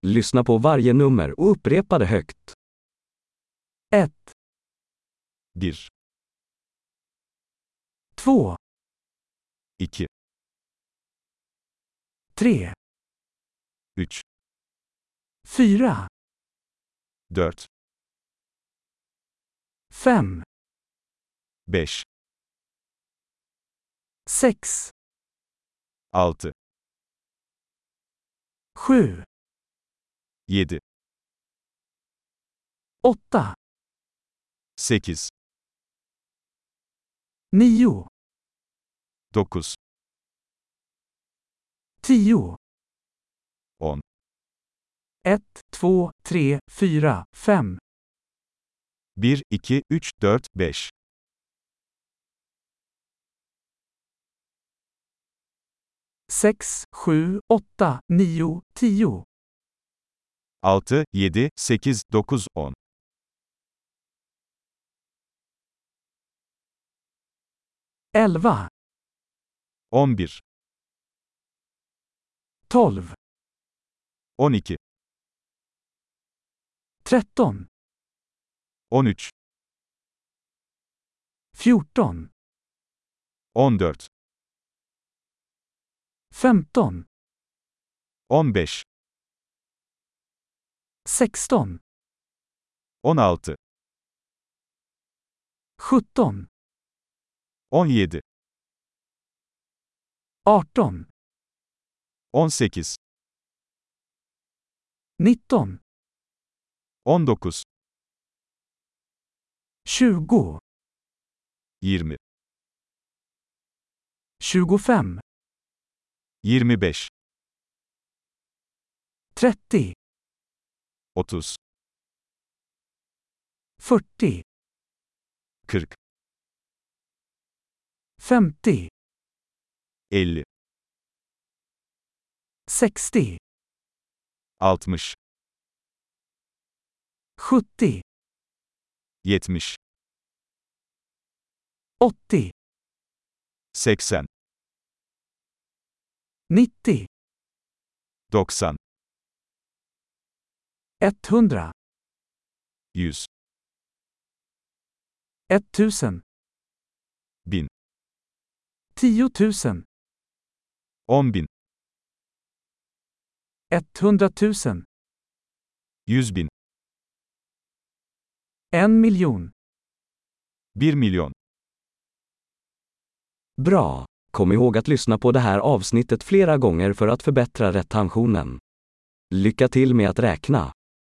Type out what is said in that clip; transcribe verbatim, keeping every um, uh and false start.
Lyssna på varje nummer och upprepa det högt. ett, bir, två, iki, tre, üç, fyra, dört, fem, beş, sex, altı, sju, yedi, åtta, sekiz, nio, dokuz, tio, on, ett, två, tre, fyra, fem, bir, iki, üç, dört, beş, sex, sju, åtta, nio, tio, altı, yedi, sekiz, dokuz, on, elva, on bir, tolv, on iki, tretton, on üç, fjorton, on dört, femton, on beş, sexton, on altı, sjutton, on yedi, arton, on sekiz, nitton, on dokuz, tjugo, yirmi, tjugofem, yirmi beş, trettio, otuz, fyrtio, kırk, femtio, elli, sextio, altmış, sjuttio, yetmiş, åttio, seksen, nittio, doksan, etthundra, yüz, etttusen, bin, tiotusen, on bin, etthundratusen, yüz bin, en miljon. bir milyon. Bra! Kom ihåg att lyssna på det här avsnittet flera gånger för att förbättra retentionen. Lycka till med att räkna!